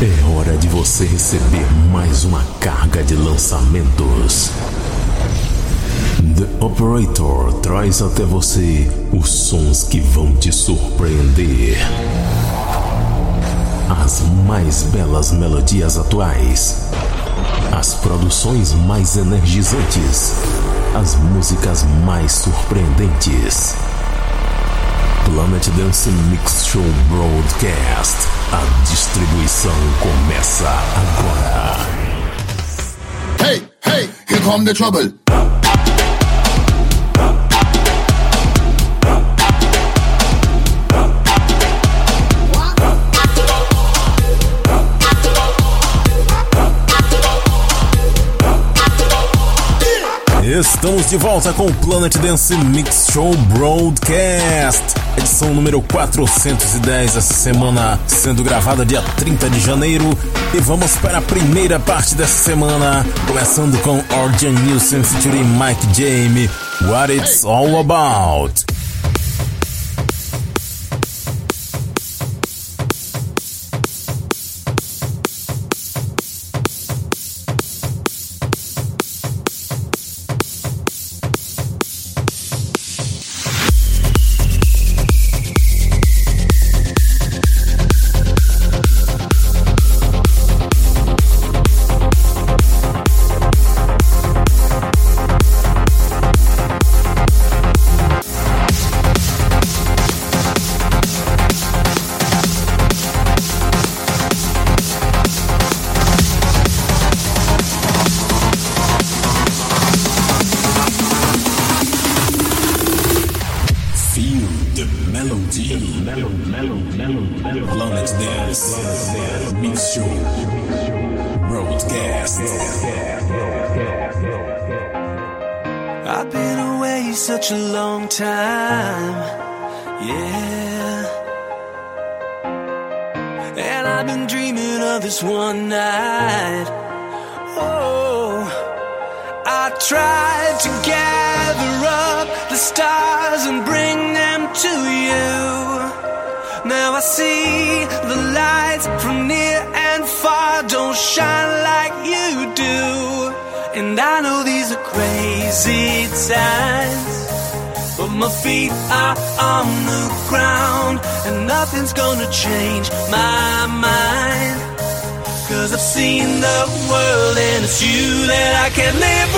É hora de você receber mais uma carga de lançamentos. The Operator traz até você os sons que vão te surpreender. As mais belas melodias atuais. As produções mais energizantes. As músicas mais surpreendentes. Planet Dance Mix Show Broadcast. A distribuição começa agora. Hey, hey, here come the trouble. Estamos de volta com o Planet Dance Mix Show Broadcast, edição número 410, essa semana sendo gravada dia 30 de janeiro. E vamos para a primeira parte dessa semana, começando com Orjan Nilsen featuring Mike James, What It's All About. Planet Dance Mix Show Broadcast. I've been away such a long time, yeah. And I've been dreaming of this one night. Oh, I tried to gather up the stars and bring them to you. Now I see the lights from near and far don't shine like you do. And I know these are crazy times, but my feet are on the ground, and nothing's gonna change my mind. 'Cause I've seen the world and it's you that I can't live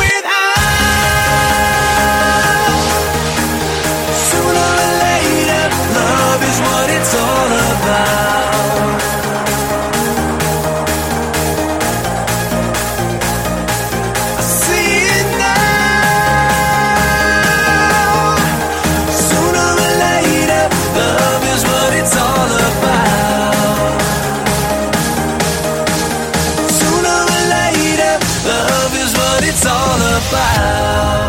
without. Sooner or later, love is what it's all about. I see it now. Sooner or later, love is what it's all about. Sooner or later, love is what it's all about.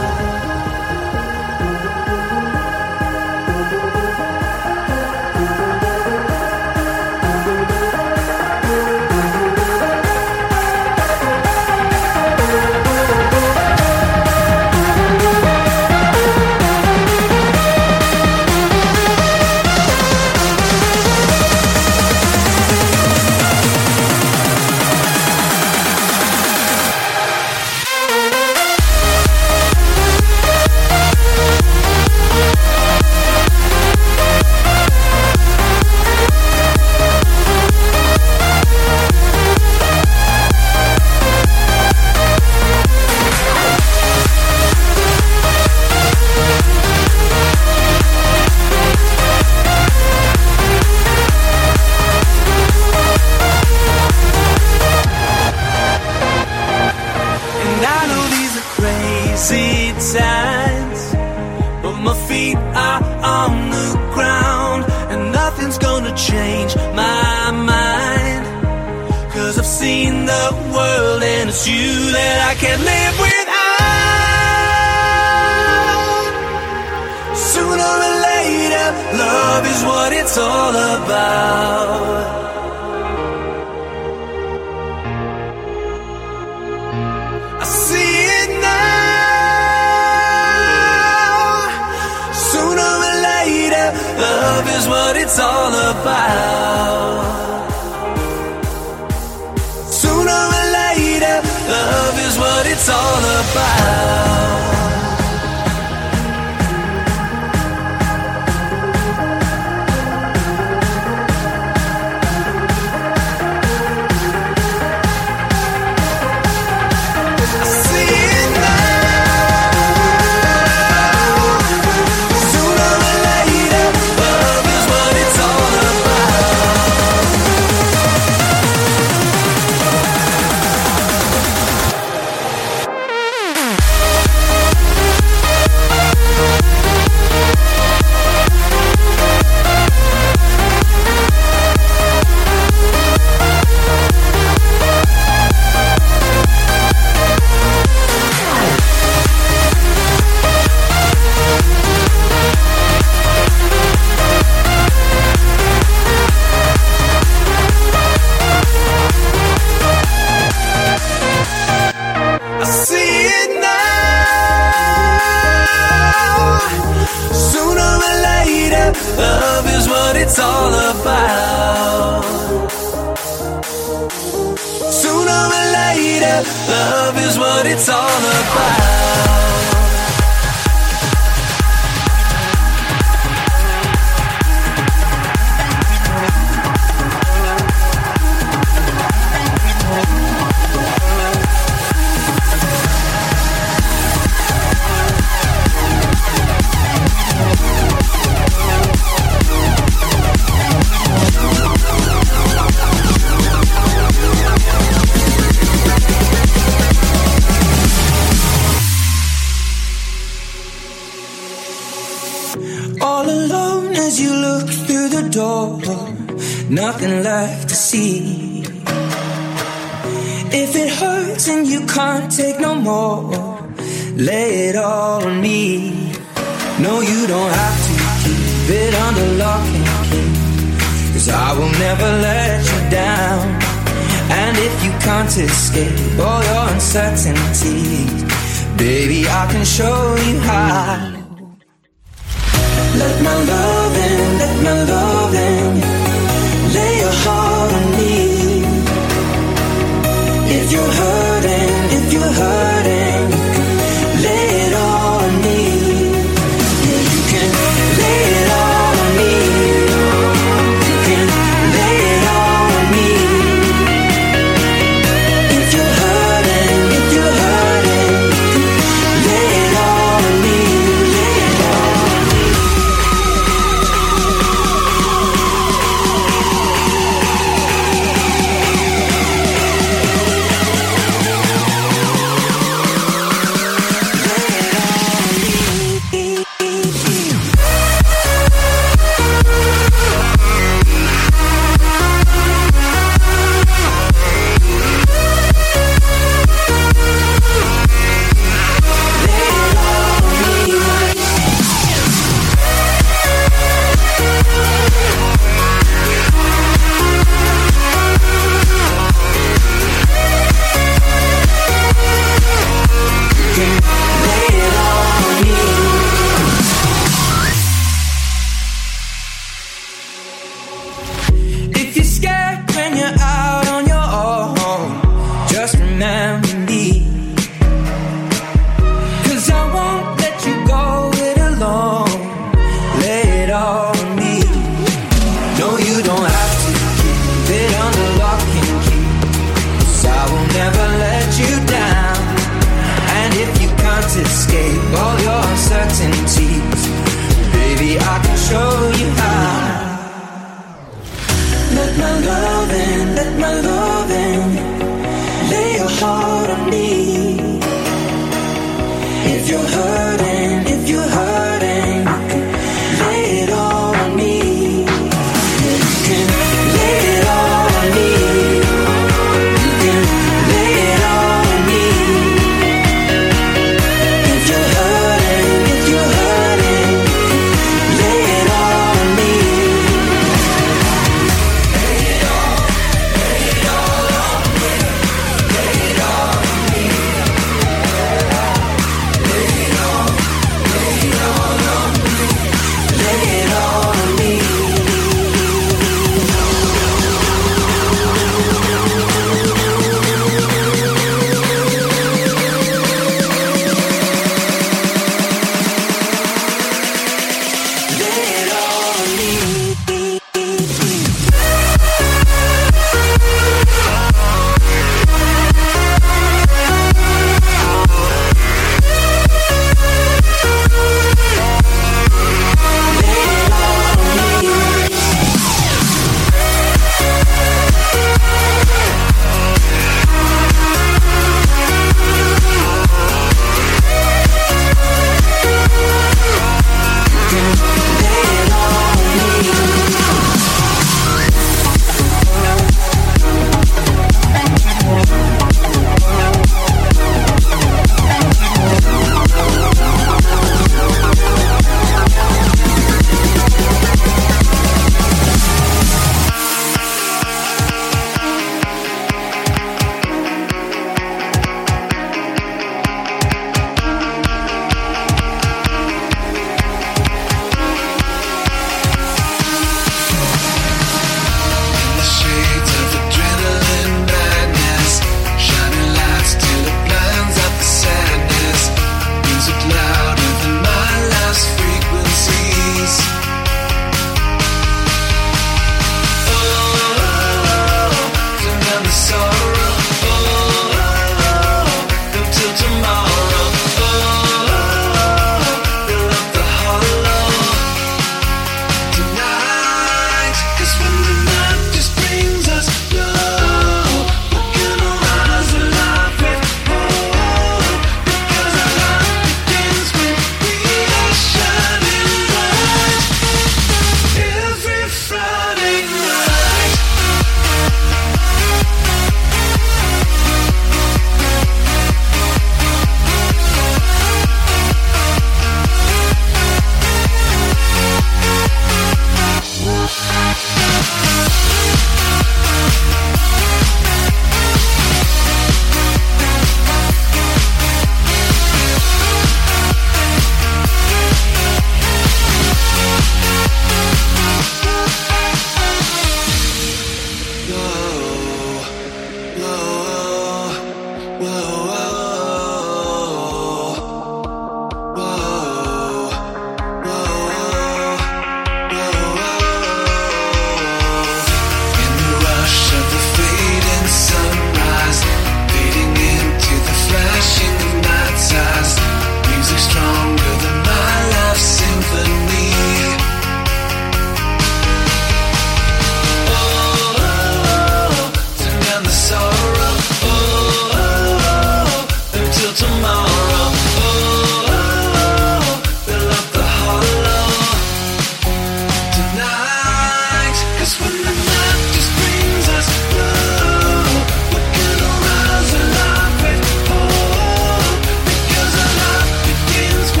Times, but my feet are on the ground, and nothing's gonna change my mind. 'Cause I've seen the world and it's you that I can't live without. Sooner or later, love is what it's all about. I see it now. Sooner or later, love is what it's all about. it's all about. It's all about. Sooner or later, love is what it's all about. Nothing left to see. If it hurts and you can't take no more, lay it all on me. No, you don't have to keep it under lock and key, 'cause I will never let you down. And if you can't escape all your uncertainties, baby, I can show you how. Let my love in, let my love in. Lay your heart on me. If you're hurting, lay it all on me. Yeah, you can lay it all on me. You can lay it all on me. If you're hurting, lay it all on me. Lay it all on me.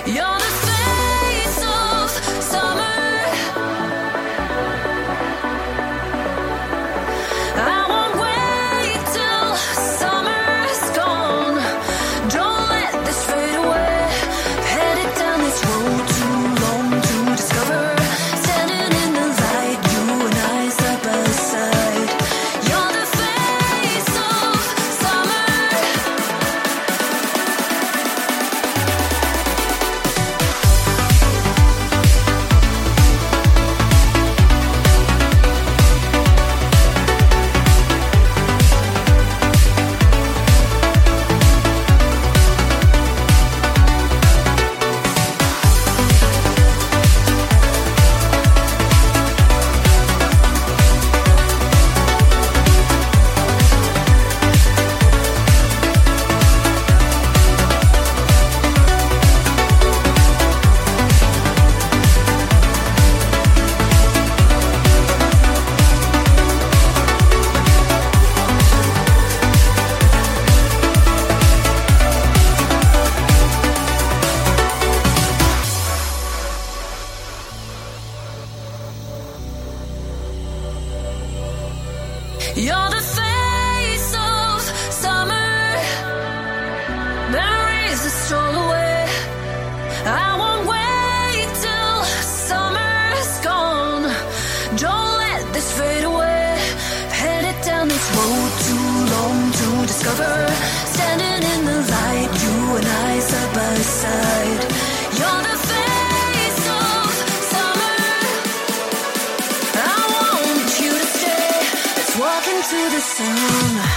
You're the face of summer. Memories that stroll away. I won't wait till summer's gone. Don't let this fade away. Headed down this road too long to discover. Standing in the light, you and I side by side. You're the face of summer. I want you to stay. Let's walk into the sun.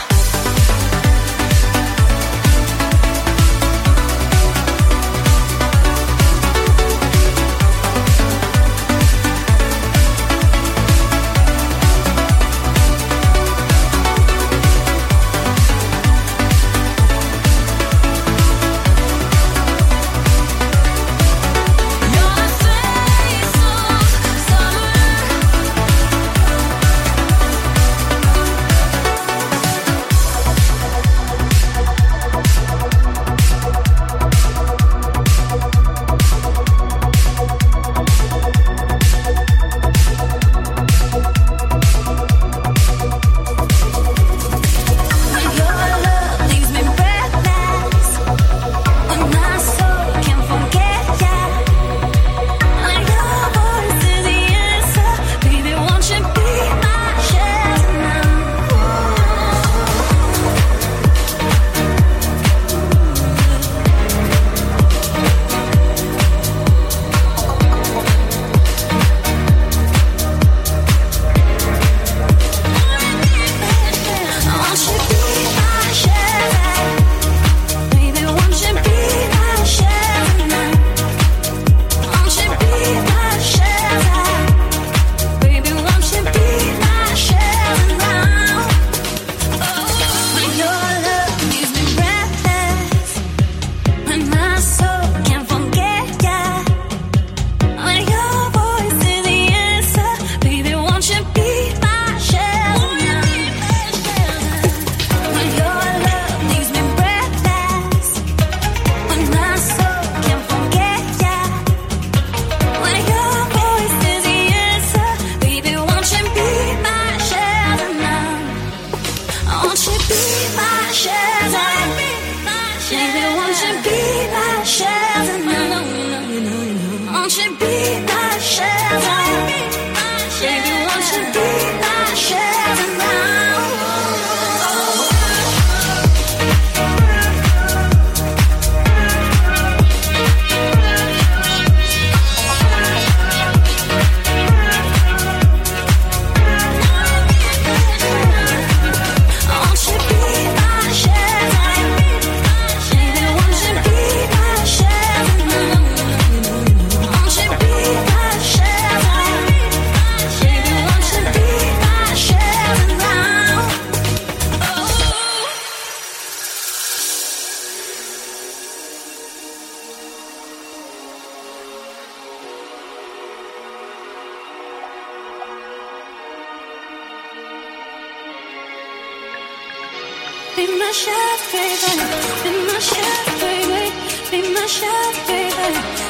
Be my chef, baby. Be my chef, baby. Be my chef, baby.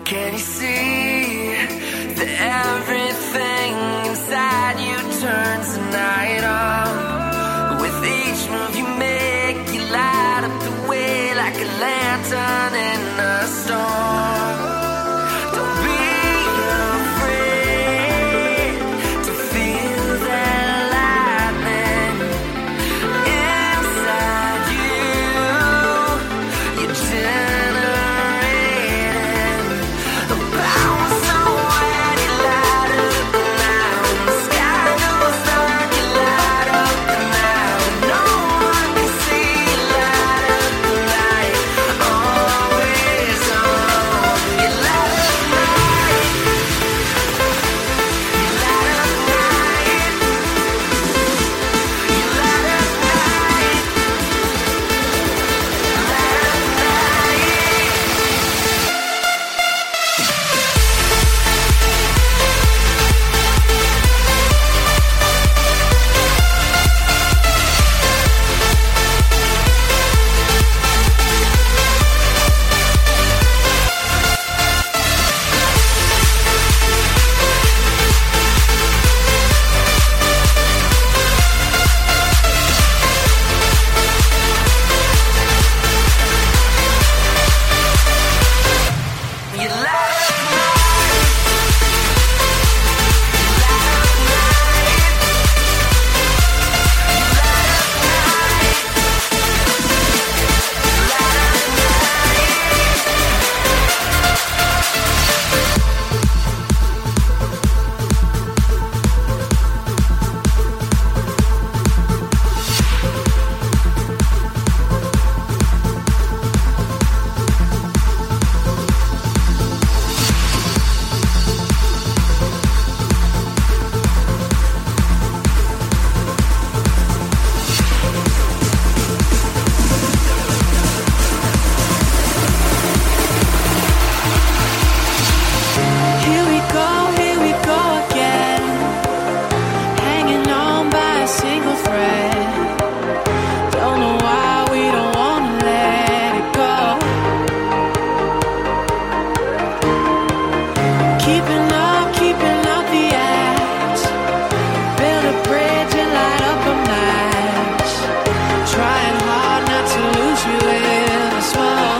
Can you see that everything inside you turns the night on? With each move you make, you light up the way like a lantern in a storm. Don't be afraid to feel that lightning inside you. You're generating a power so when you light up the night. The sky goes dark, you light up the night. No one can see you light up the light. Always on. You light up the night. You light up the night. You light up the night. You light up the night. Here we go again, hanging on by a single thread. Don't know why we don't wanna let it go. Keeping up the act. Build a bridge and light up a match. Trying hard not to lose you in the smoke.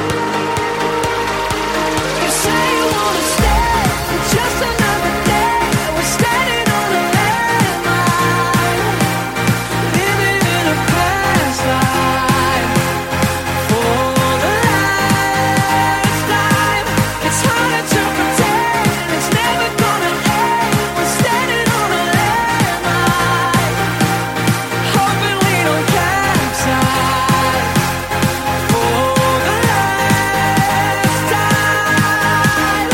You say you wanna stay for just another day. We're standing on a landmine, living in a past life. For the last time, it's harder to pretend it's never gonna end. We're standing on a landmine, hoping we don't capsize. For the last time.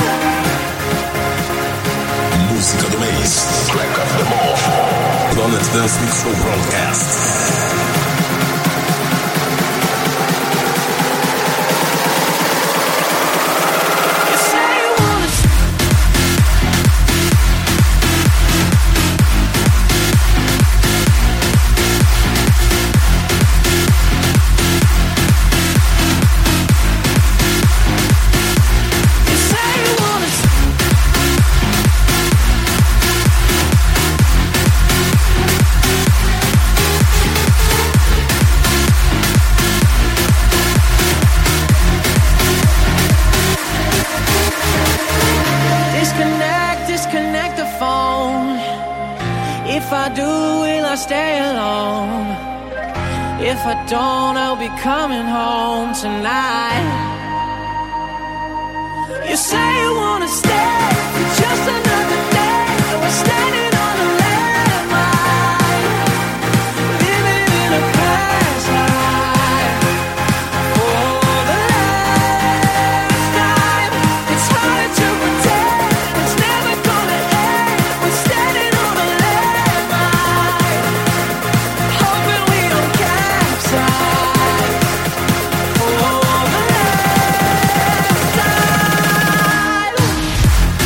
Música do mês. Track of the month. Planet Dance Mix Show Broadcast. You say you wanna You say you wanna disconnect the phone. If I do, will I stay alone? If I don't, I'll be coming home tonight. You say you wanna stay for just another day. We're standing on a landmine, living in a past life. For the last time, it's harder to pretend it's never gonna end. We're standing on a landmine, hoping we don't capsize. For the last time.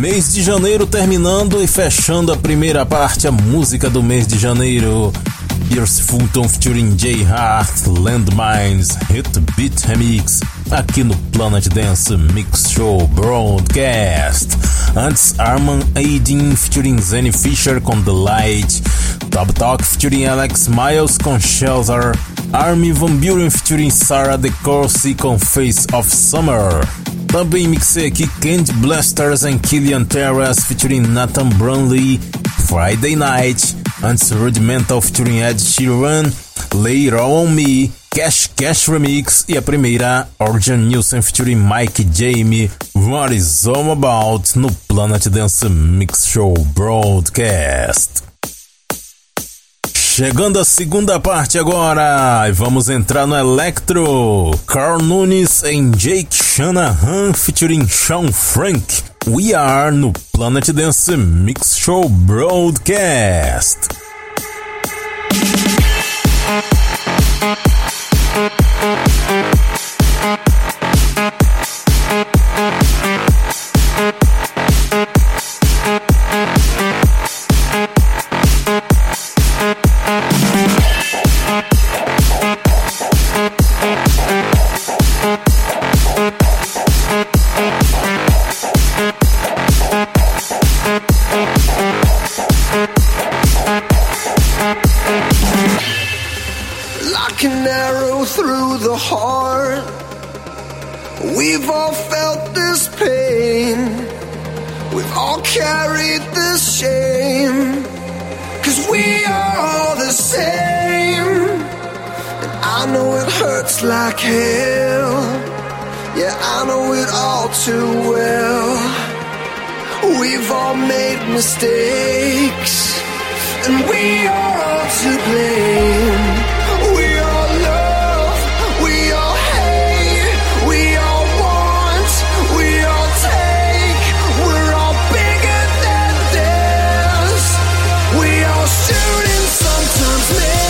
Mês de janeiro terminando e fechando a primeira parte, a música do mês de janeiro. Pierce Fulton featuring Jay Hart, Landmines, Hit Beat Remix, aqui no Planet Dance Mix Show Broadcast. Antes, Arman Aidin featuring Zenny Fisher com The Light, Top Talk featuring Alex Miles com Shelter, Armin Van Buren featuring Sarah DeCourcy com Face of Summer. Também mixei aqui Candy Blasters and Killian Terrace featuring Nathan Brunley, Friday Night. Antes, Rudimental featuring Ed Sheeran, Lay It All On Me, Cash Cash Remix e a primeira, Orjan Nilsen featuring Mike Jamie, What Is All About, no Planet Dance Mix Show Broadcast. Chegando a segunda parte agora, e vamos entrar no Electro. Carl Nunes em Jake Shanahan featuring Sean Frank. We Are no Planet Dance Mix Show Broadcast. Like hell, yeah, I know it all too well. We've all made mistakes, and we are all to blame. We all love, we all hate, we all want, we all take. We're all bigger than this. We all shoot and sometimes miss.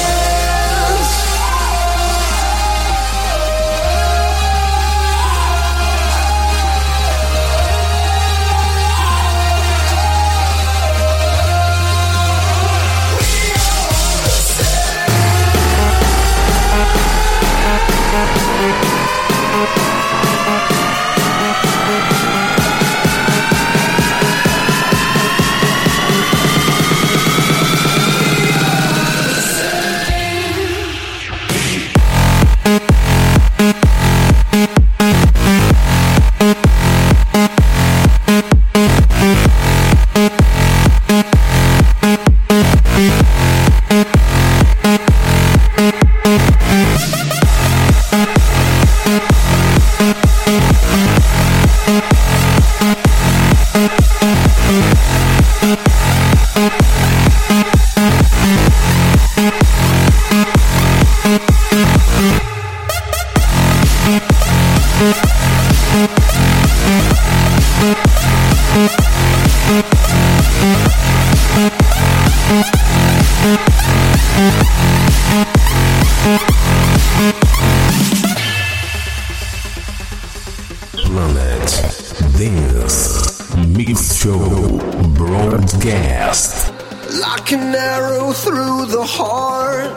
Like an arrow through the heart,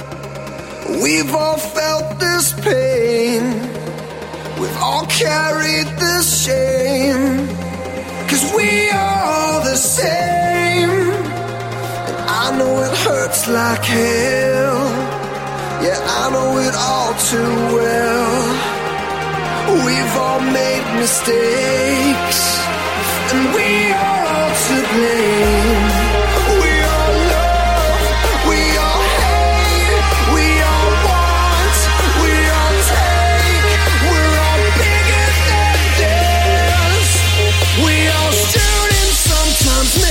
we've all felt this pain, we've all carried this shame, 'cause we are all the same. And I know it hurts like hell, yeah, I know it all too well. We've all made mistakes, and we are all to blame. We all love, we all hate, we all want, we all take. We're all bigger than this. We all shoot and sometimes miss.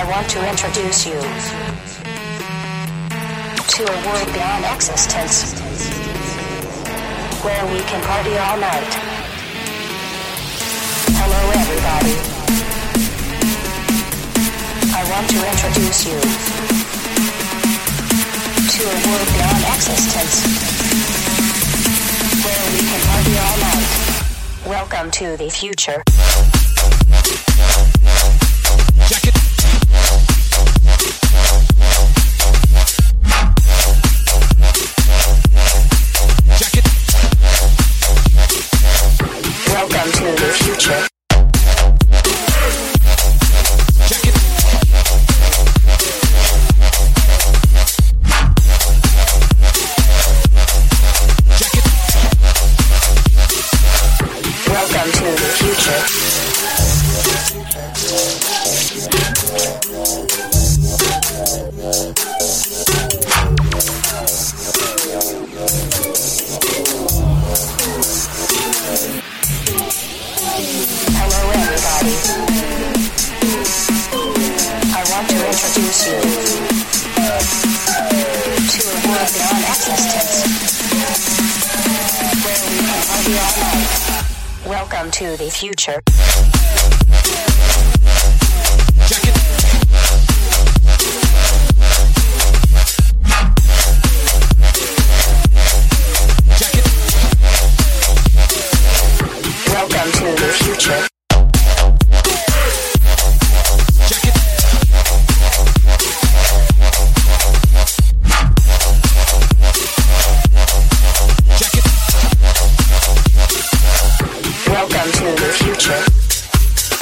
want to introduce you to a world beyond existence, where we can party all night. Hello everybody. I want to introduce you to a world beyond existence, where we can party all night. Welcome to the future. Jacket. Jacket. Welcome to the future. Jacket. Jacket. Welcome to the future. Hello everybody. I want to introduce you to a world beyond existence, where we can party all night. Welcome to the future. Jacket. Jacket. Welcome to the future. Jacket. Jacket. Welcome to the future.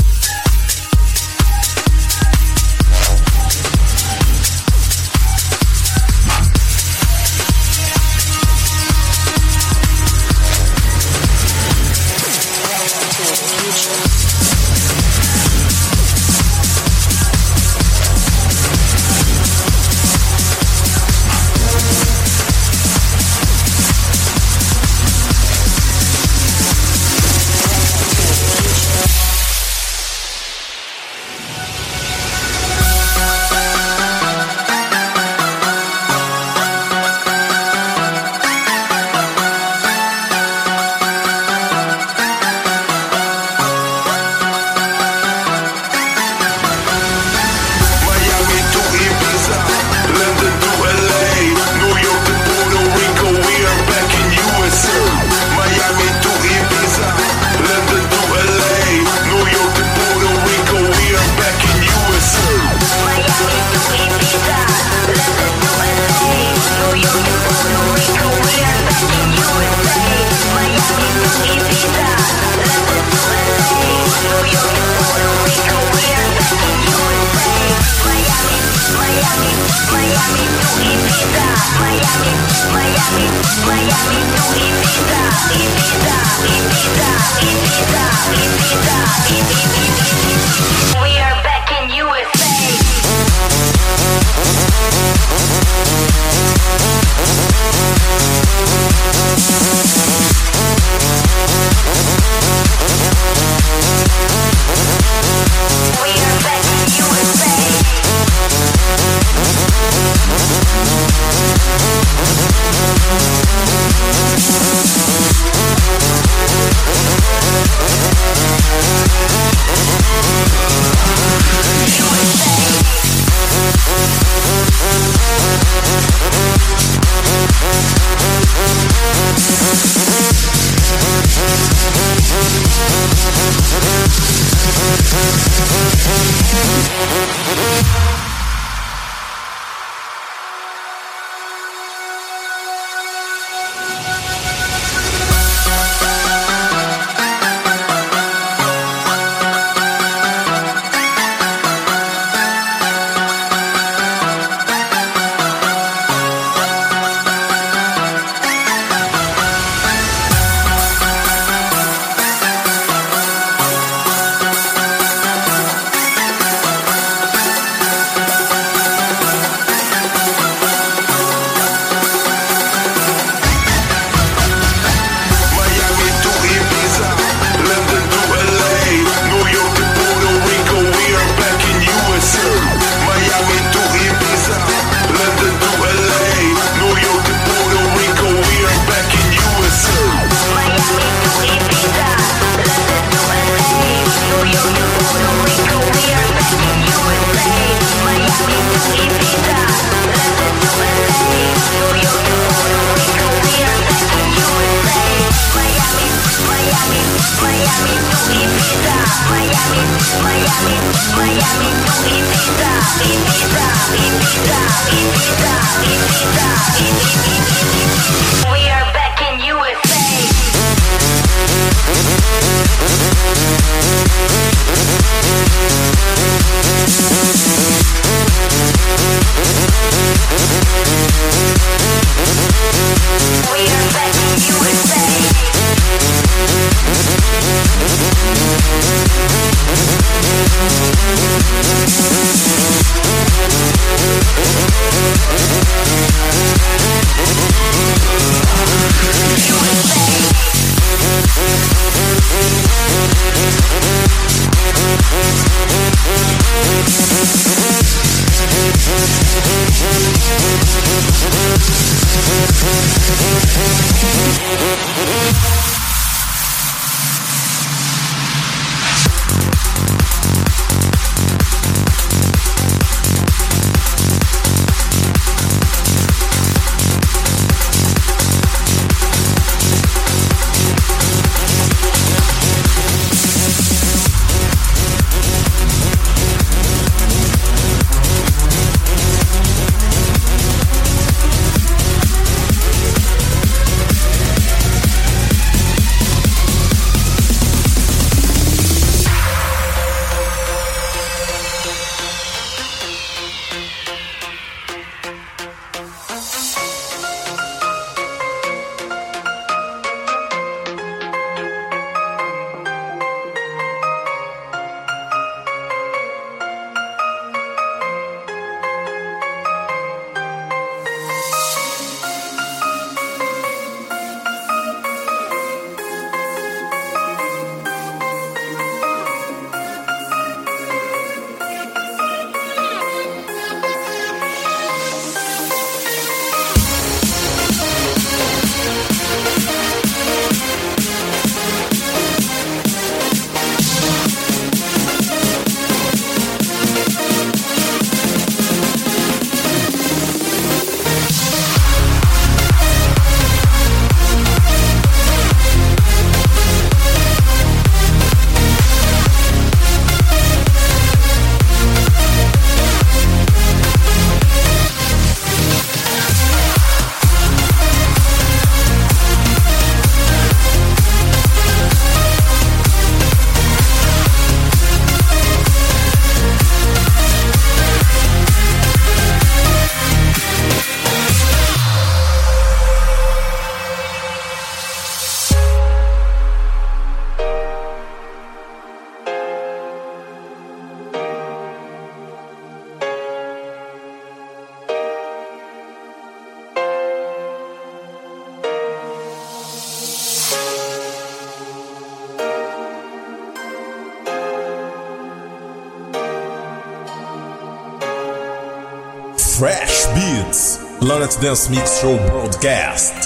Fresh Beats, Planet Dance Mix Show Broadcast.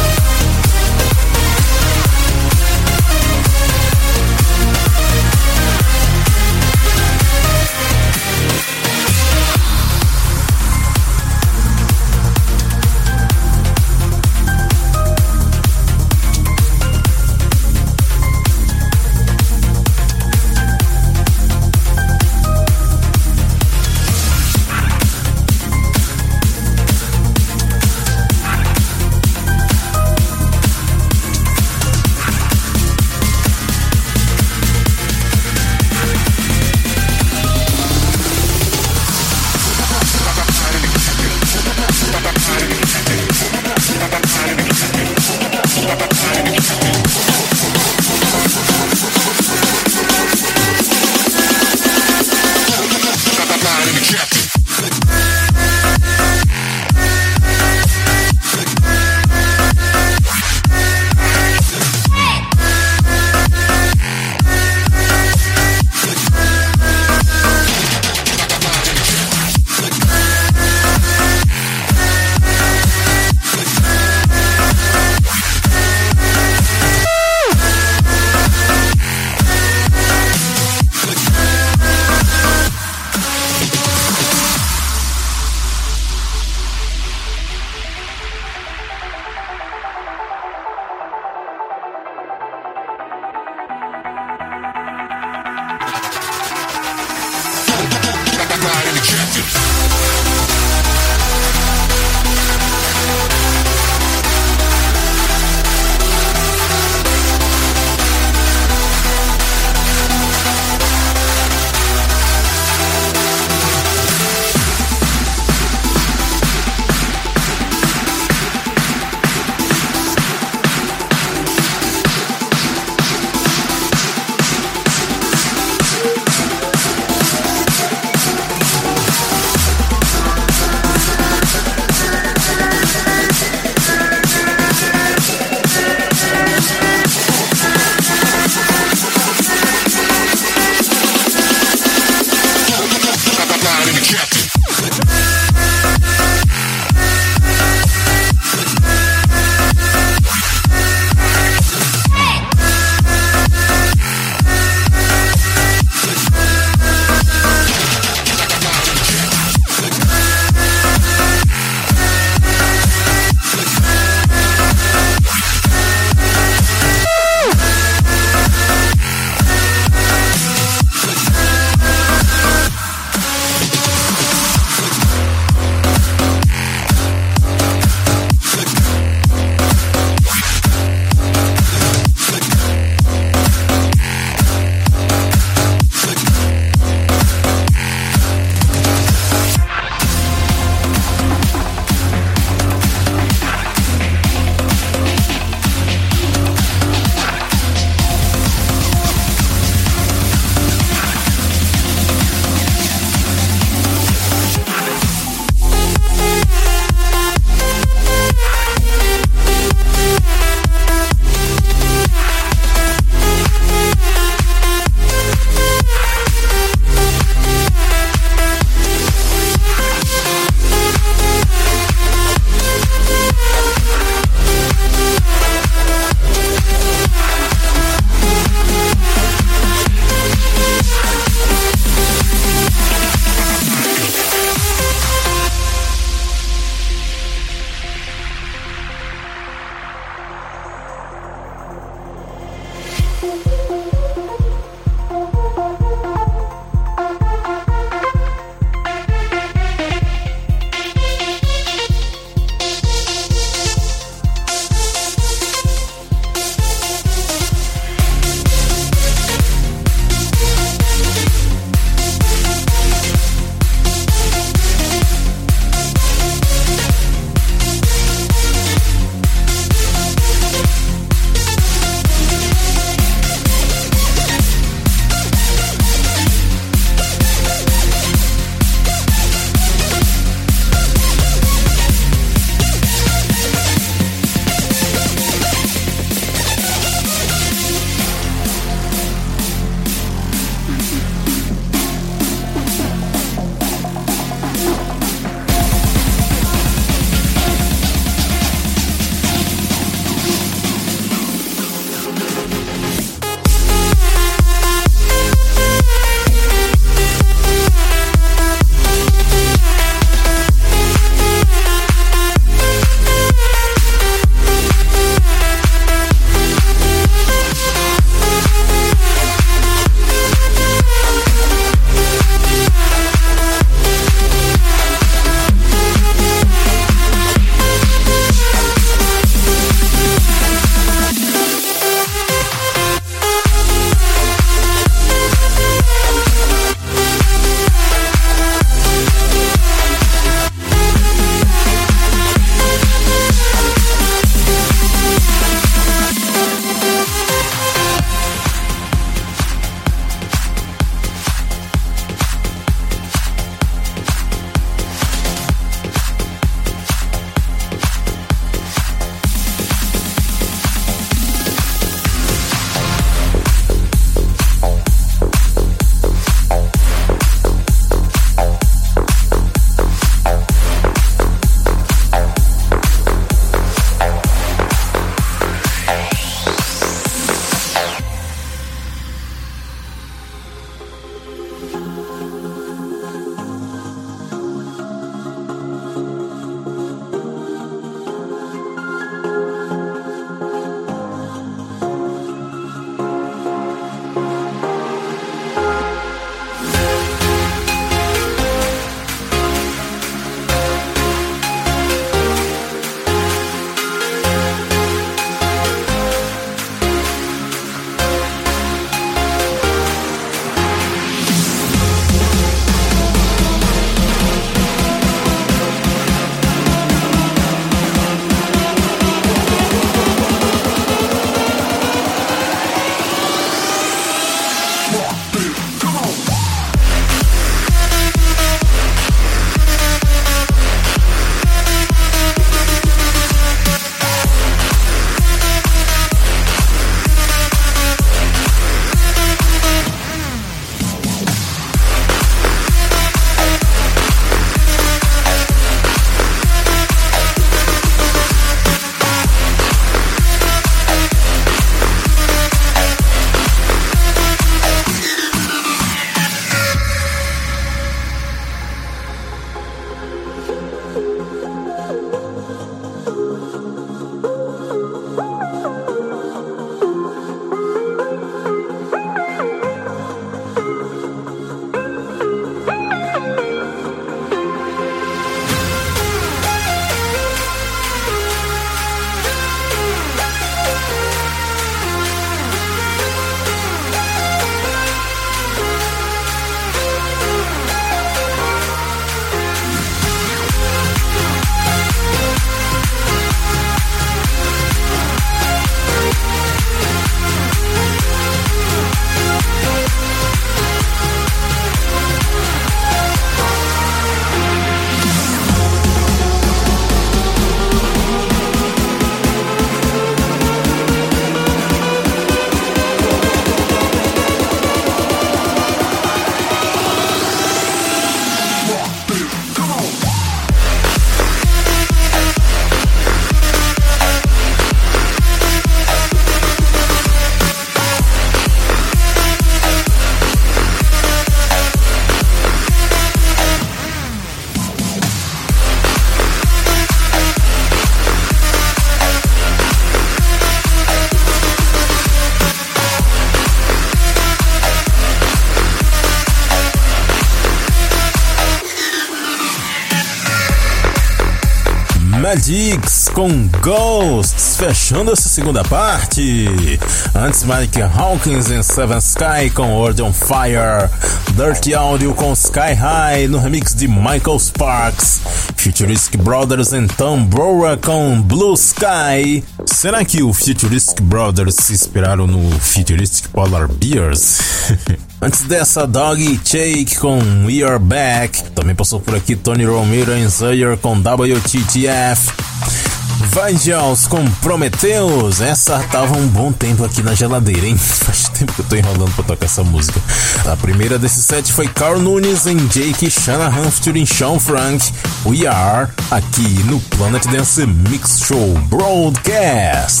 Madix com Ghosts, fechando essa segunda parte. Antes, Mike Hawkins em Seven Sky com World on Fire. Dirty Audio com Sky High no remix de Michael Sparks. Futuristic Brothers em Tom Brower com Blue Sky. Será que o Futuristic Brothers se inspiraram no Futuristic Polar Bears? Antes dessa, Doggy Shake com We Are Back. Também passou por aqui Tony Romero em Zaire com WTTF. Vangelis com Prometheus. Essa tava um bom tempo aqui na geladeira, hein? Faz tempo que eu tô enrolando pra tocar essa música. A primeira desse set foi Carl Nunes em Jake Shanahan featuring Sean Frank. We Are, aqui no Planet Dance Mix Show Broadcast.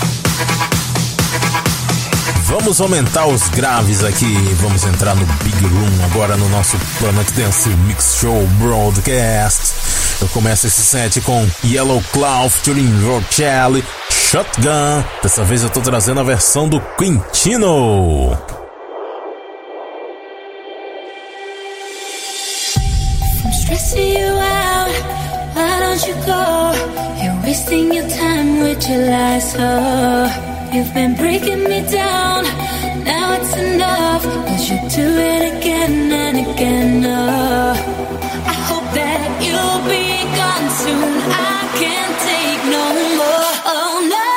Vamos aumentar os graves aqui, vamos entrar no Big Room agora no nosso Planet Dance Mix Show Broadcast. Eu começo esse set com Yellow Claw featuring Rochelle, Shotgun. Dessa vez eu tô trazendo a versão do Quintino. I'm stressing you out, why don't you go? You're wasting your time with your lies, oh. You've been breaking me down, now it's enough, 'cause you do it again and again, oh. I hope that you'll be gone soon, I can't take no more, oh no.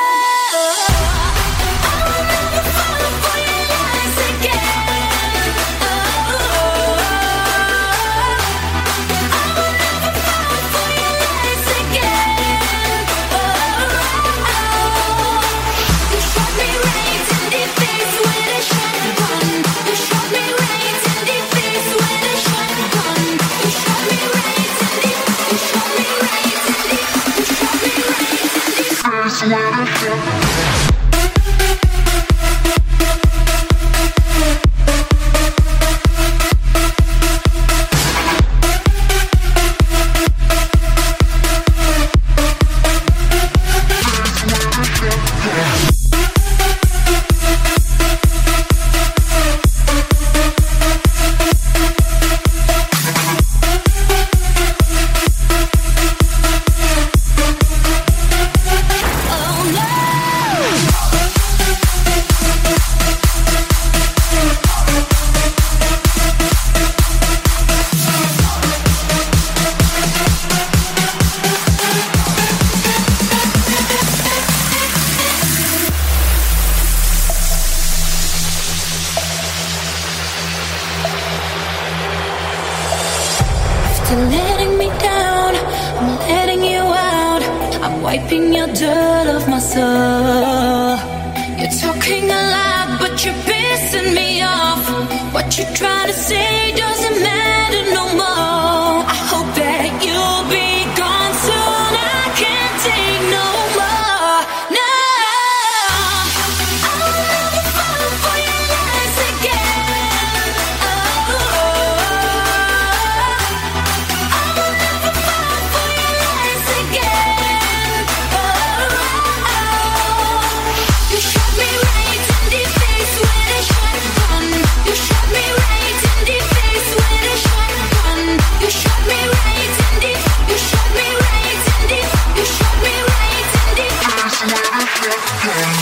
I will never fall for your lies again, oh. I will never fall for your lies again, oh. You shot me right in the face with a shotgun. You shot me right in the face with a shotgun. You shot me right in the. You shot me right in the. You shot me right in the face with a shotgun. After letting me down, I'm letting you out. I'm wiping your dirt off my soul. You're talking a lot, but you're pissing me off. What you're trying to say doesn't matter no more. I hope that you'll be gone soon. I can't take no more. No, I will never fall for your lies again. Oh, I will never fall for your lies again. Oh, you shot me right in the face with a shotgun. You shot me right in the face with a shotgun. You shot me right in the. You shot me right in the. You shot me right in the face with a shotgun.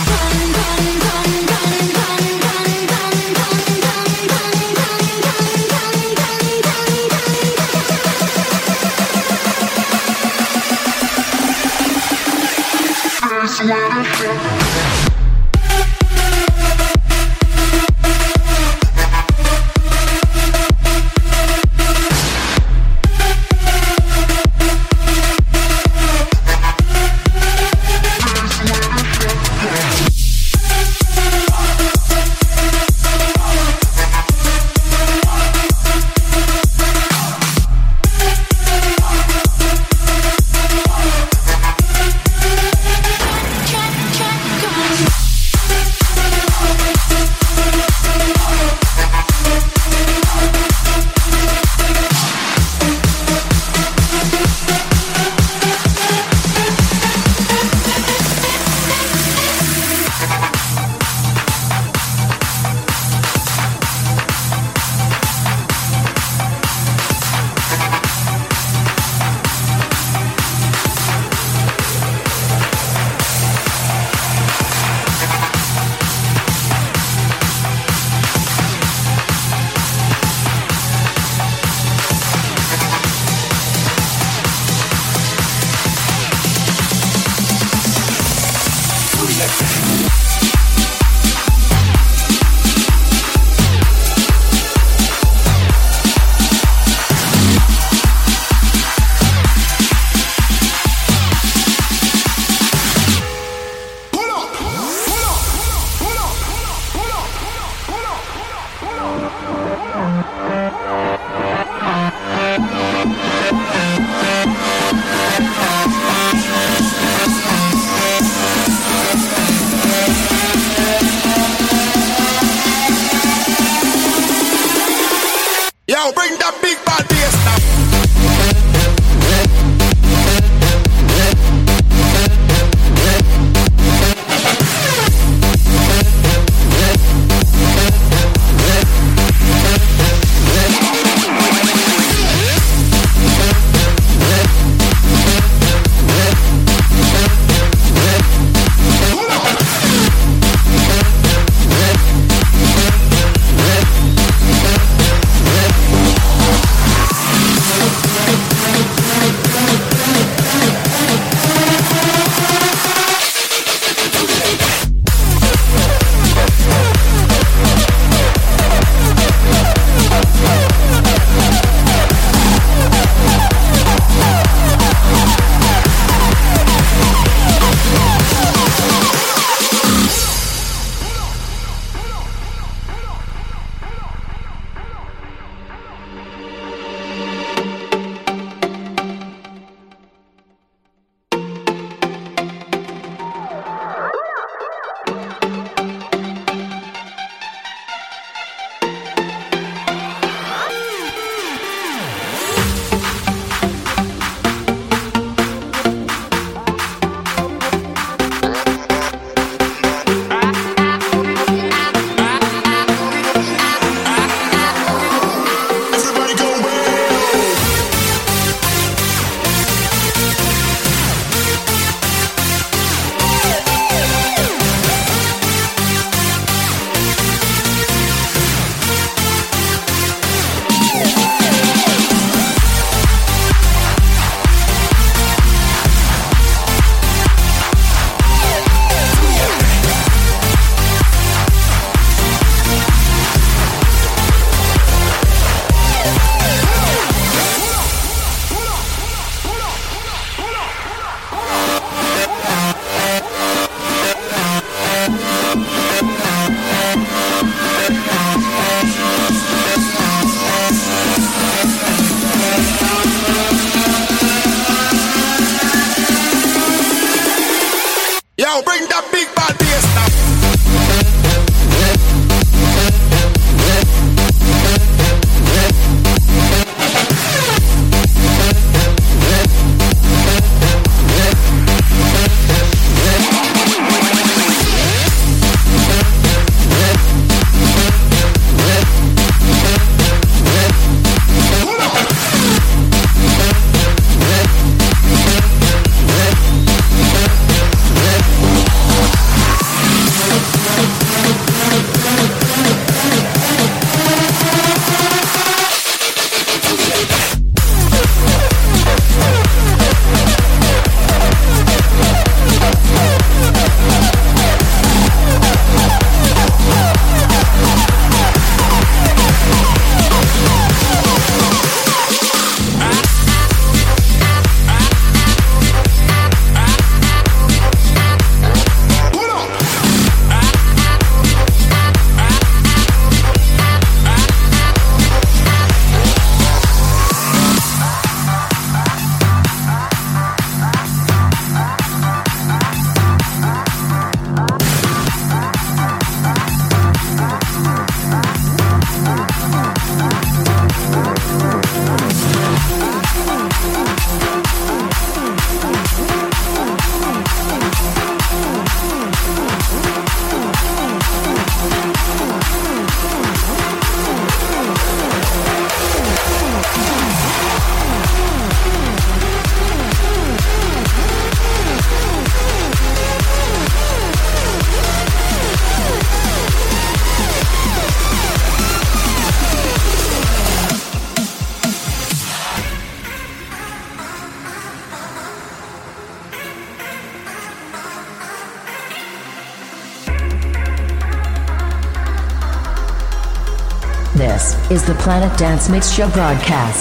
Shotgun. This is the Planet Dance Mix Show broadcast.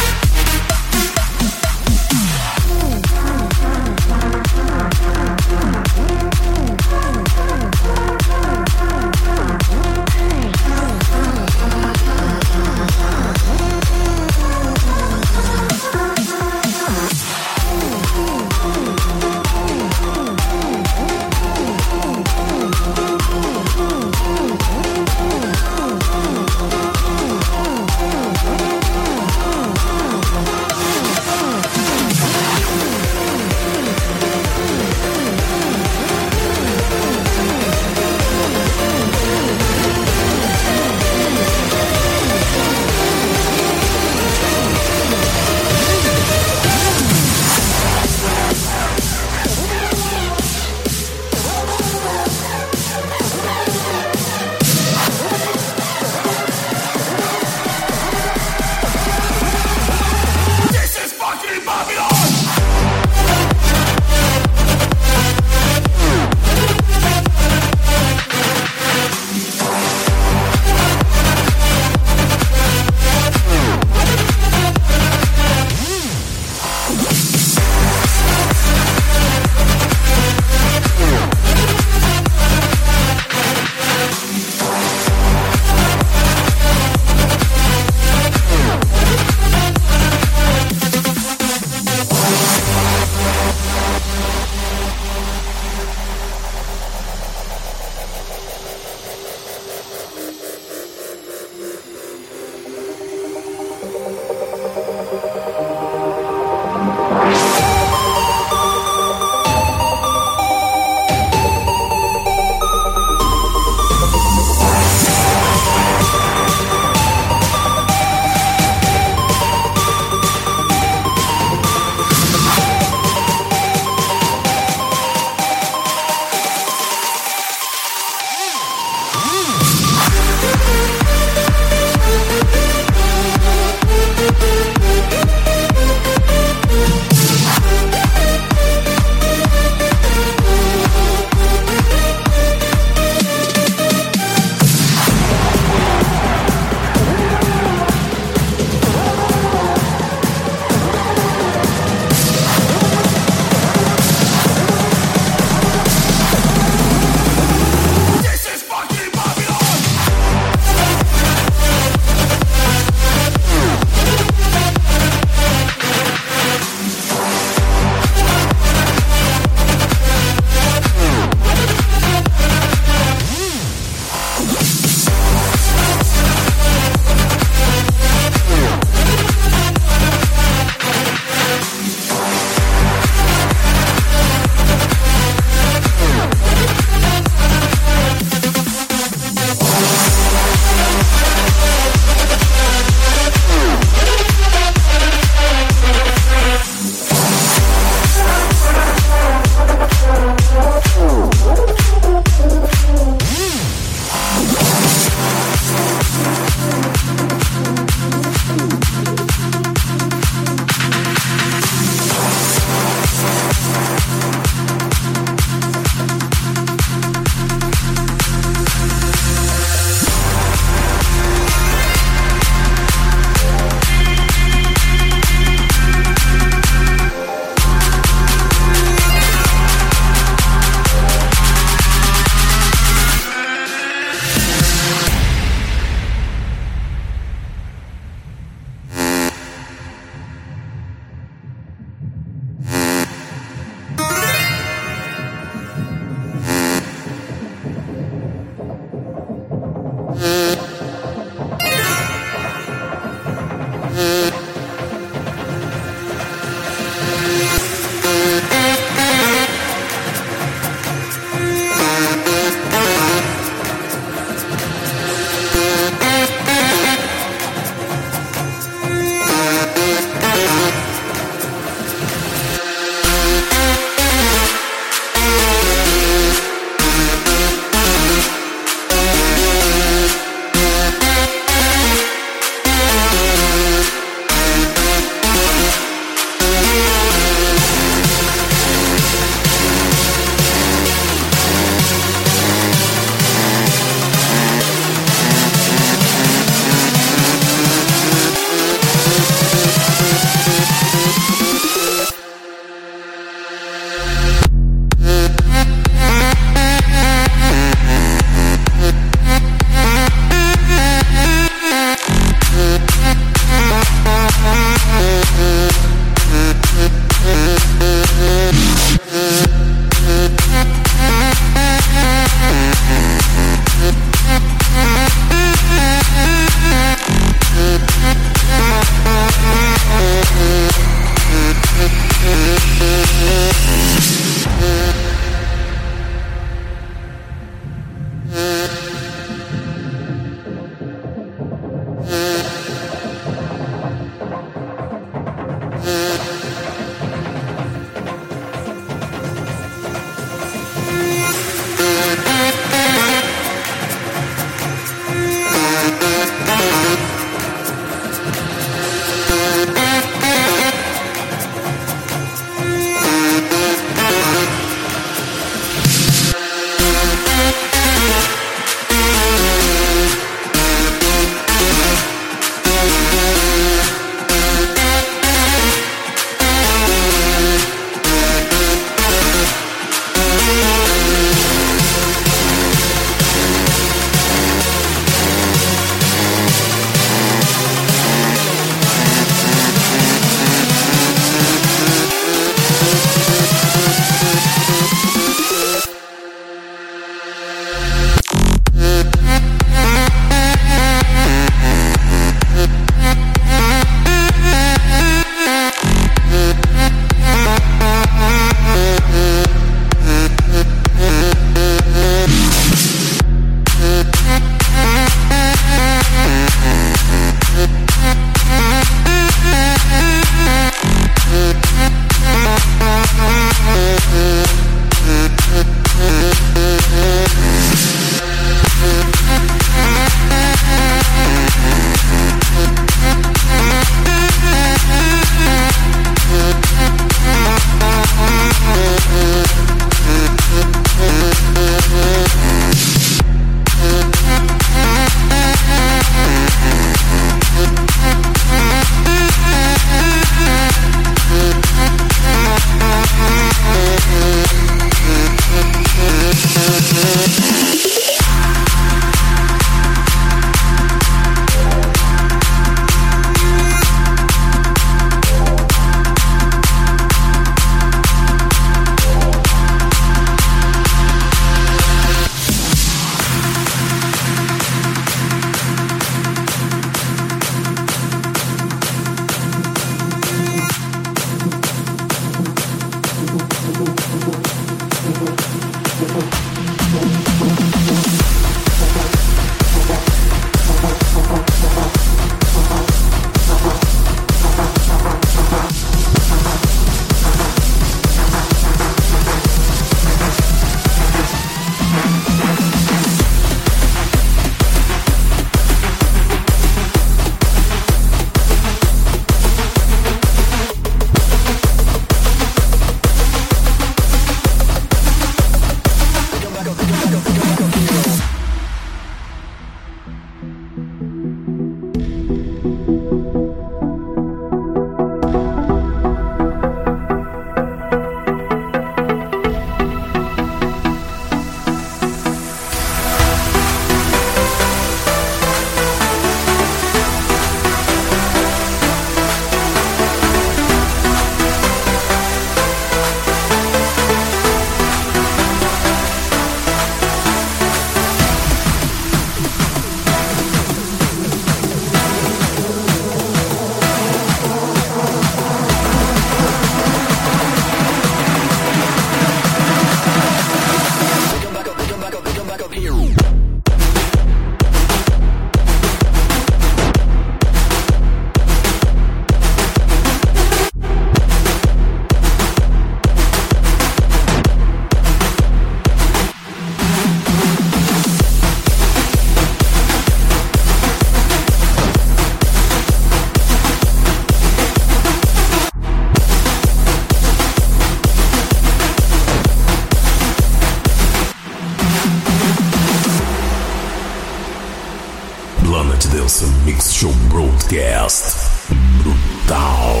Show Broadcast. Brutal.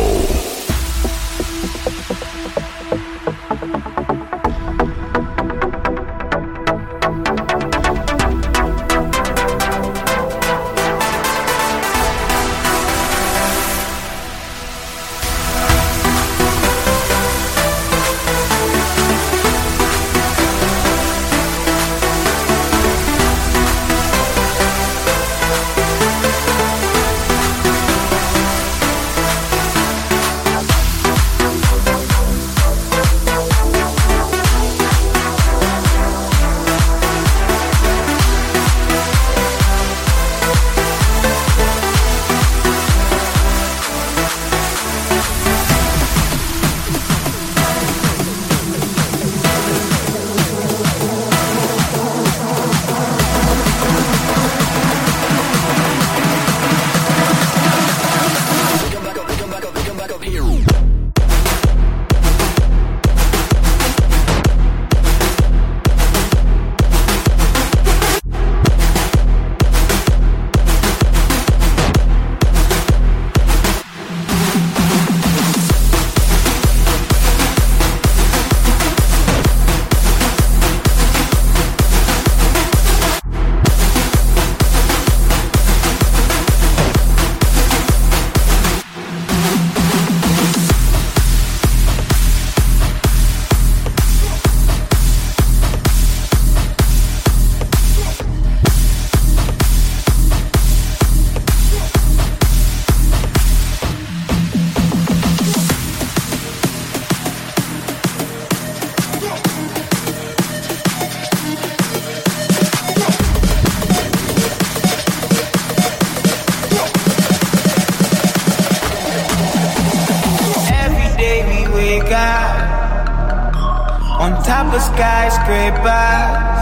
On top of skyscrapers,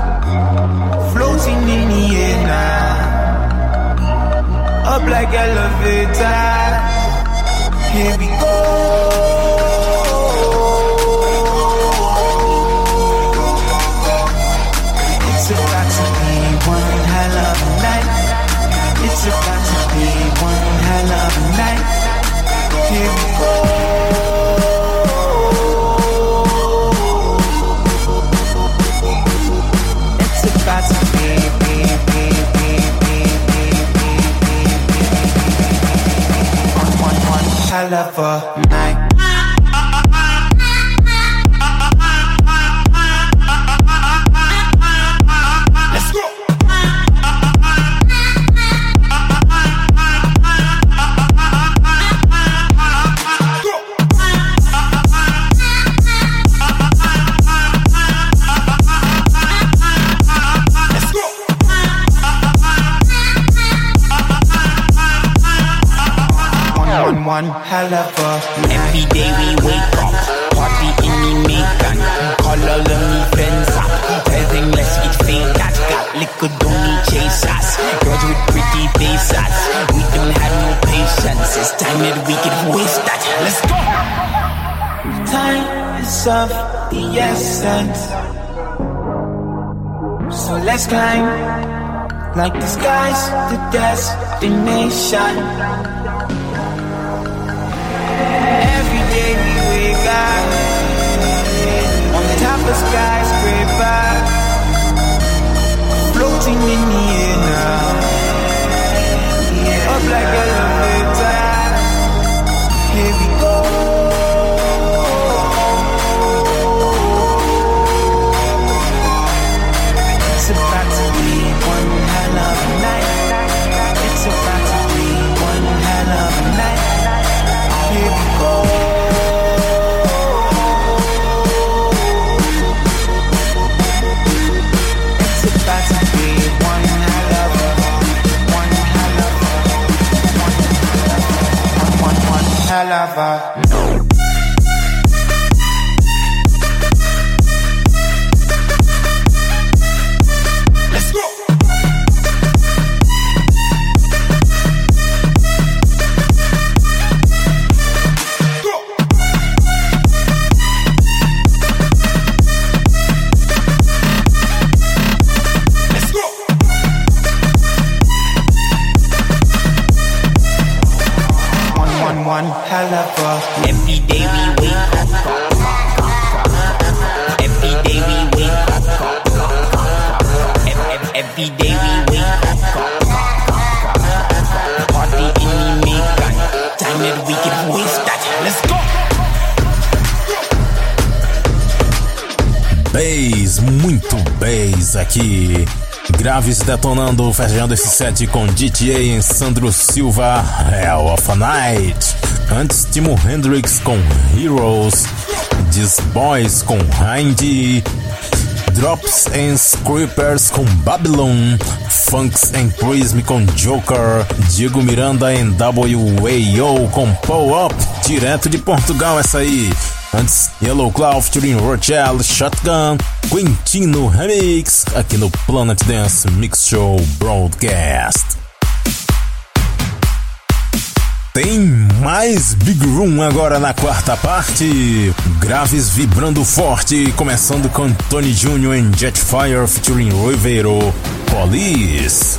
floating in the air now, up like elevators. Here we go. It's about to be one hell of a night. It's about to be one hell of a night. Here we go. Hell of a night. Let's go. One hell of a night. Every day we wake up, party in the Macon. Call all of me friends up, tell them let's get fake. Got liquor, don't need chasers. Girls with pretty faces, we don't have no patience. It's time that we can waste that. Let's go. Time is of the essence, so let's climb like the sky's the destination. Every day we wake up on top of skyscrapers, floating in the air now, up like elevators. Here we go. It's about to be one hell of a night. It's about to be one hell bass, muito bass aqui. Graves detonando, fechando esse set com GTA em Sandro Silva, Hell of a Night. Antes, Timo Hendrix com Heroes, These Boys com Hindy, Drops and Scrapers com Babylon, Funks and Prism com Joker, Diego Miranda em WAO com Pull Up, direto de Portugal essa aí. Antes, Yellow Claw featuring Rochelle, Shotgun, Quintino Remix, aqui no Planet Dance Mix Show Broadcast. Tem mais Big Room agora na quarta parte. Graves vibrando forte, começando com Tony Jr. em Jetfire featuring Rivero, Police.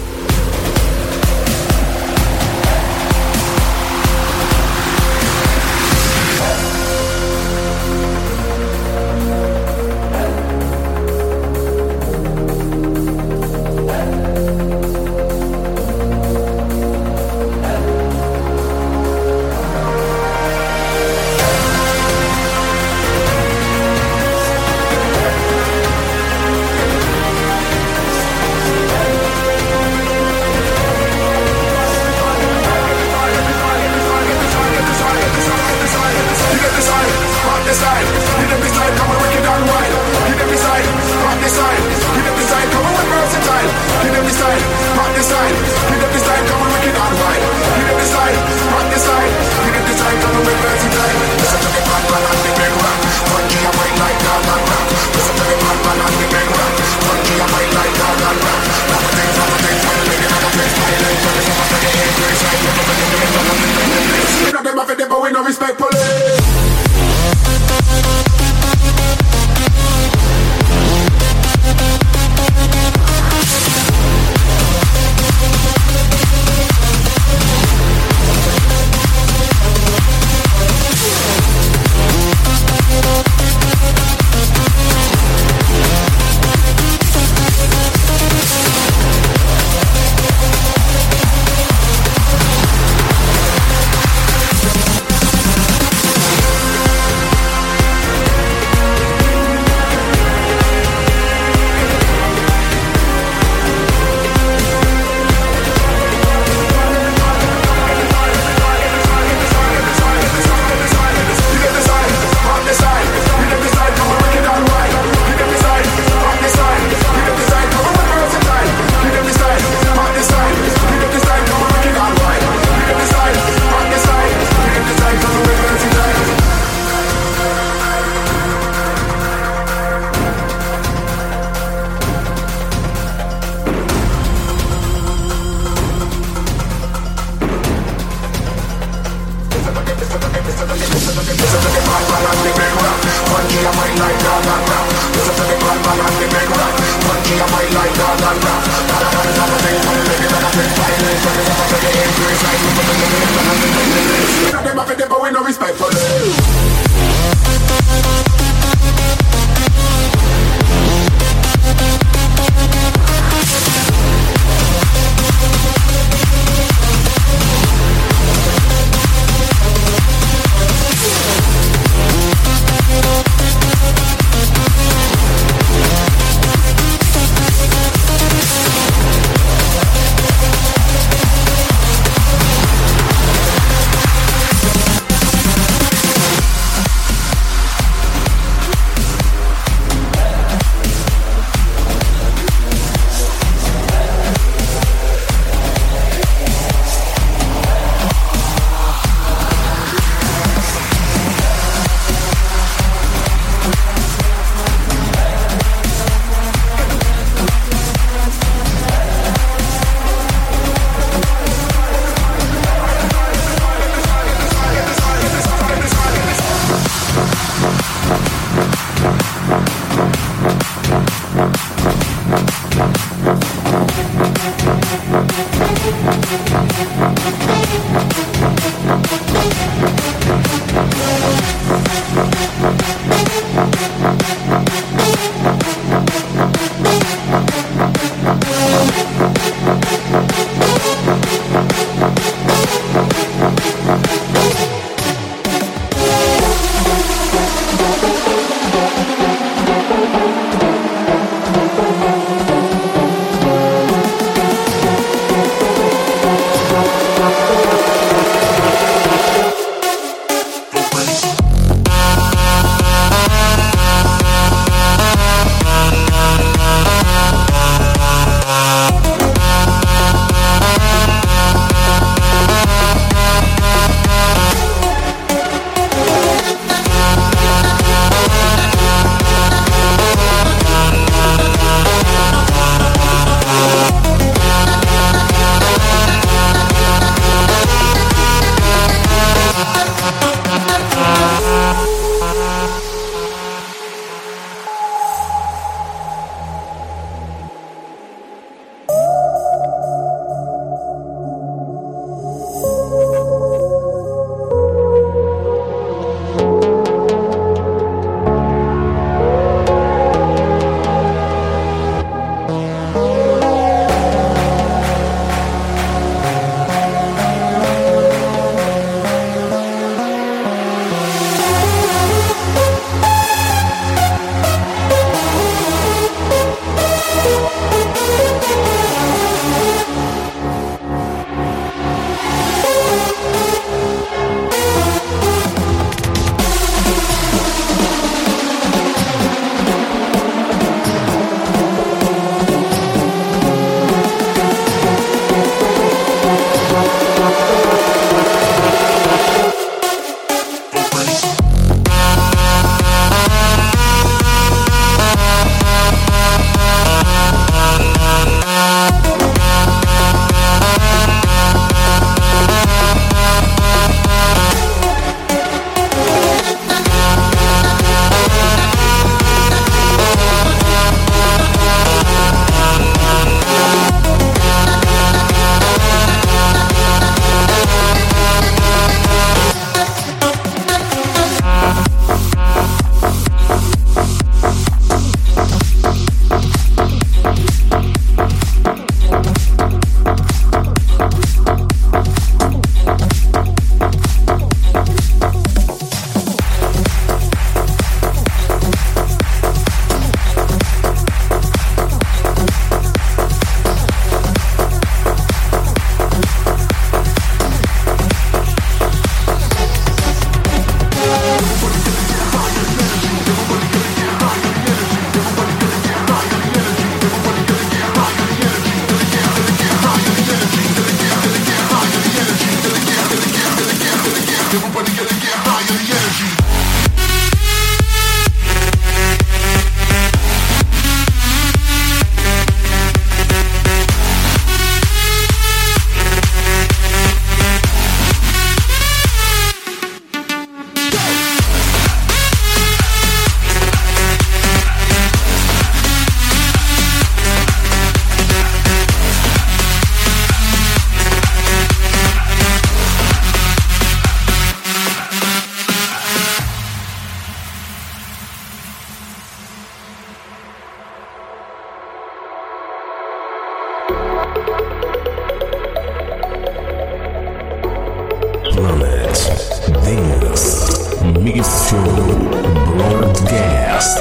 Broadcast.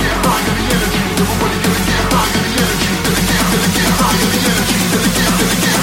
Everybody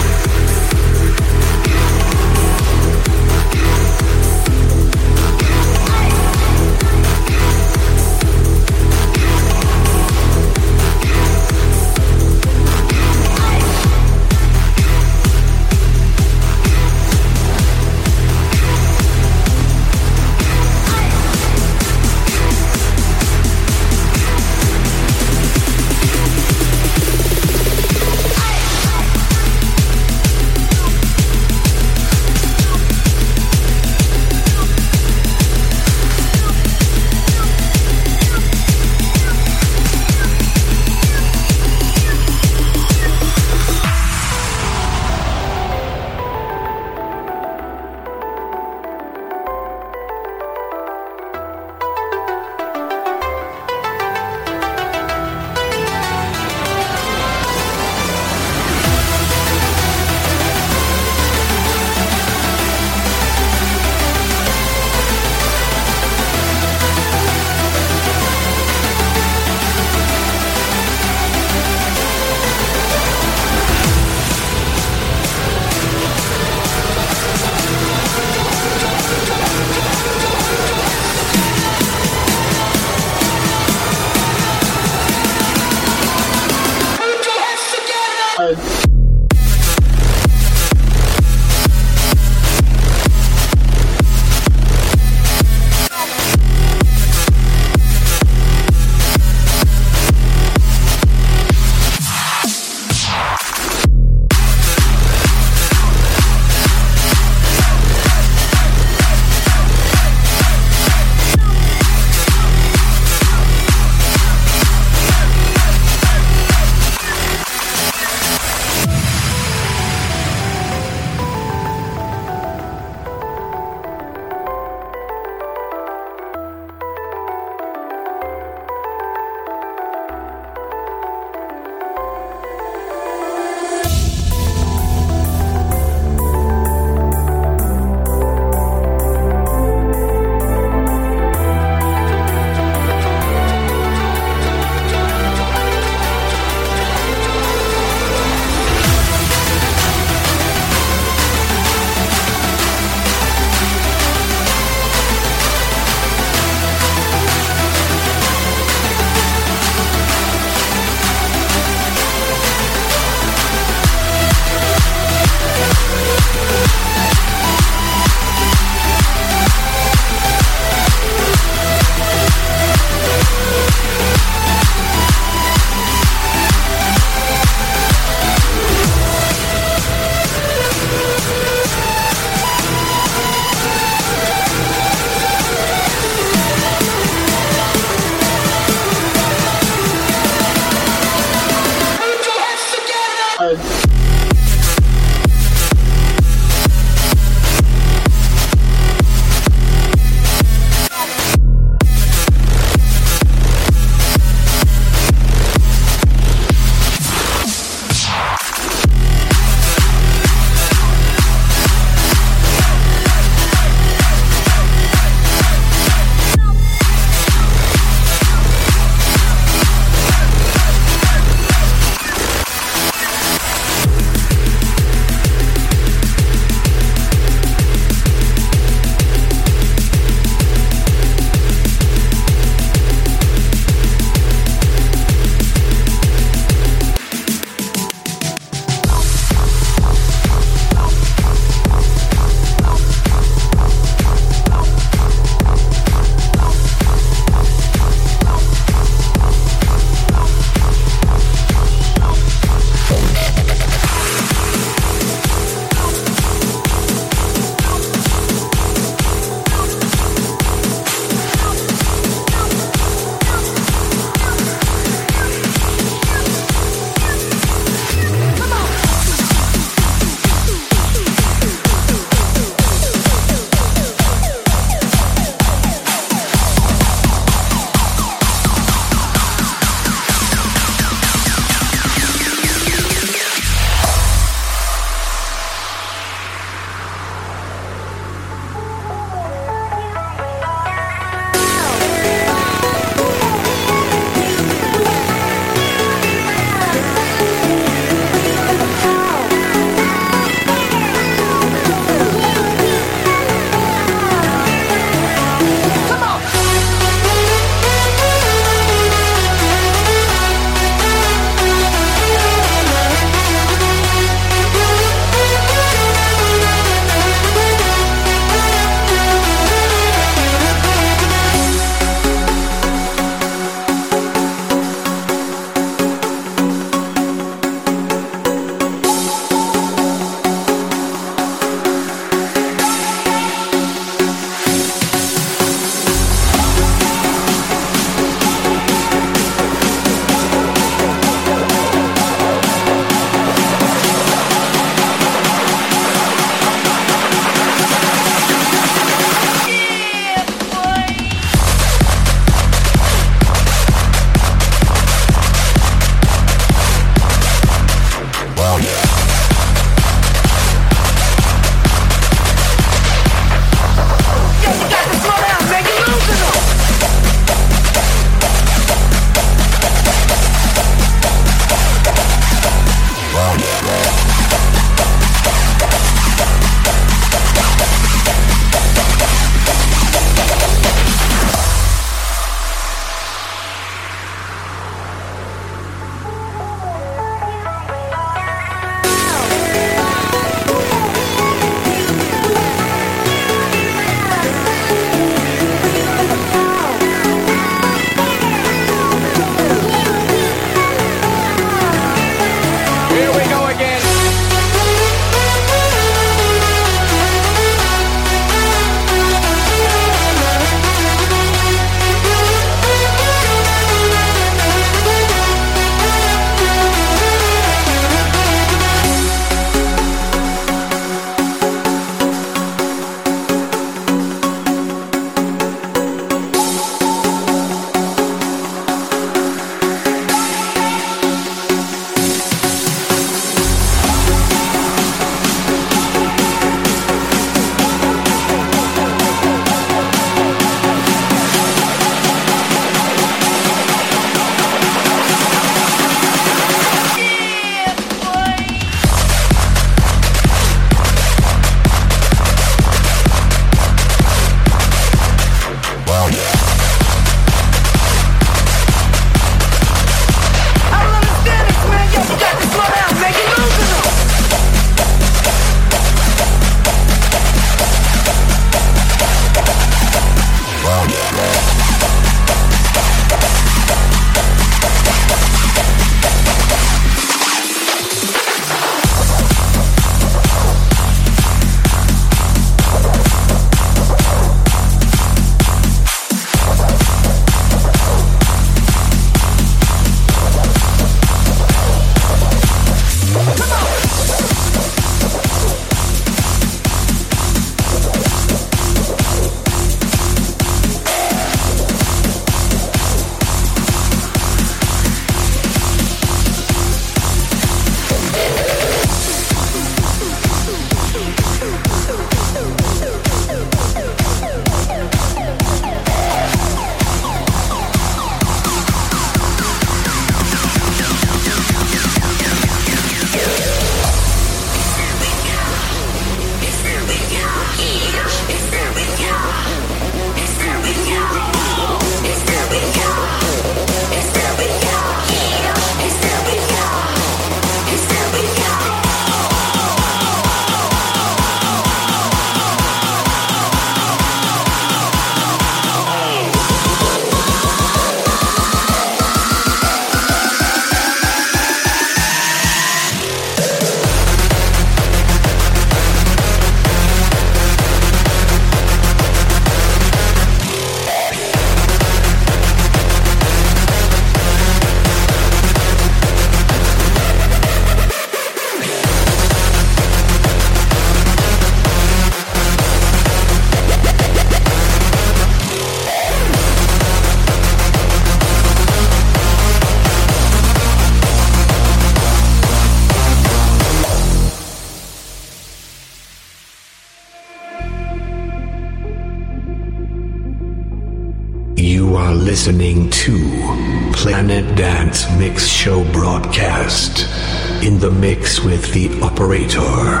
listening to Planet Dance Mix Show broadcast. In the mix with the operator.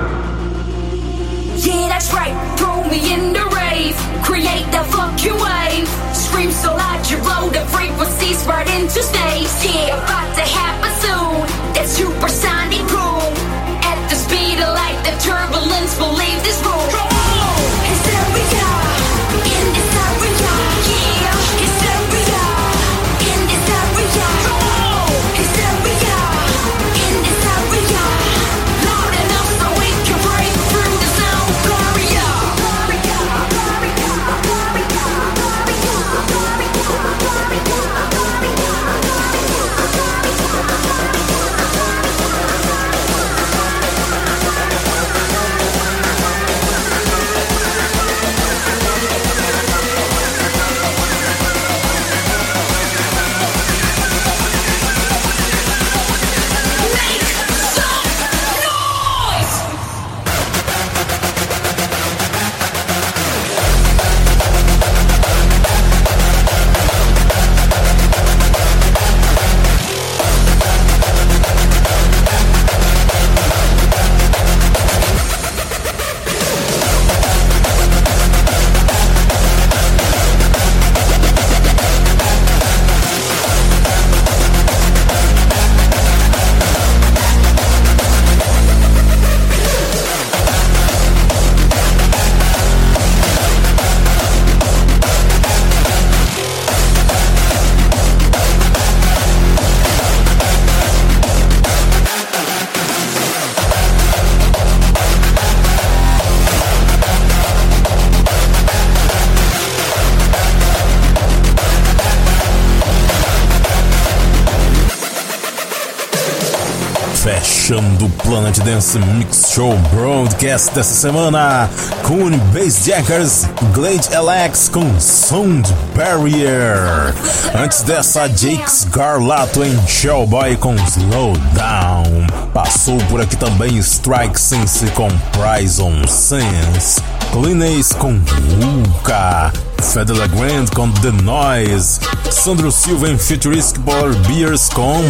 Yeah, that's right. Throw me in the rave. Create the fucking wave. Scream so loud you blow the frequencies right into space. Yeah, about to happen soon. That supersonic boom. At the speed of light, the turbulence will leave this room. Hysteria. In this area. Yeah, hysteria. In this area. Hysteria. In this area. Loud enough so we can break through the sound barrier. Fechando o Planet Dance Mix Show Broadcast dessa semana com Bassjackers, Glade LX com Sound Barrier. Antes dessa, Jake Scarlato em Shellboy com Slow Down. Passou por aqui também Strike Sense com Prison Sense, Clean Ace com Vulca, Fedela Grand com The Noise, Sandro Silva em Futuristic Polar Bears com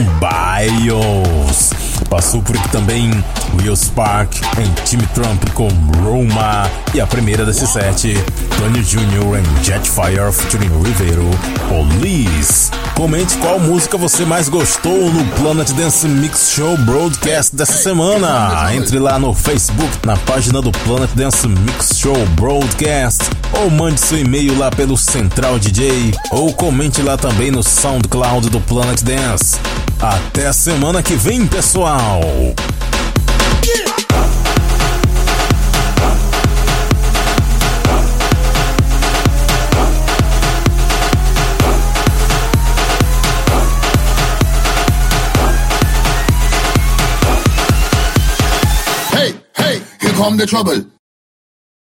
Bios. Passou por aqui também Will Spark em Team Trump com Roma. E a primeira desse set, Tony Jr. em Jetfire featuring Rivero, Police. Comente qual música você mais gostou no Planet Dance Mix Show Broadcast dessa semana. Entre lá no Facebook, na página do Planet Dance Mix Show Broadcast, ou mande seu e-mail lá pelo Central DJ, ou comente lá também no SoundCloud do Planet Dance. Até a semana que vem, pessoal! Hey, hey, here come the trouble.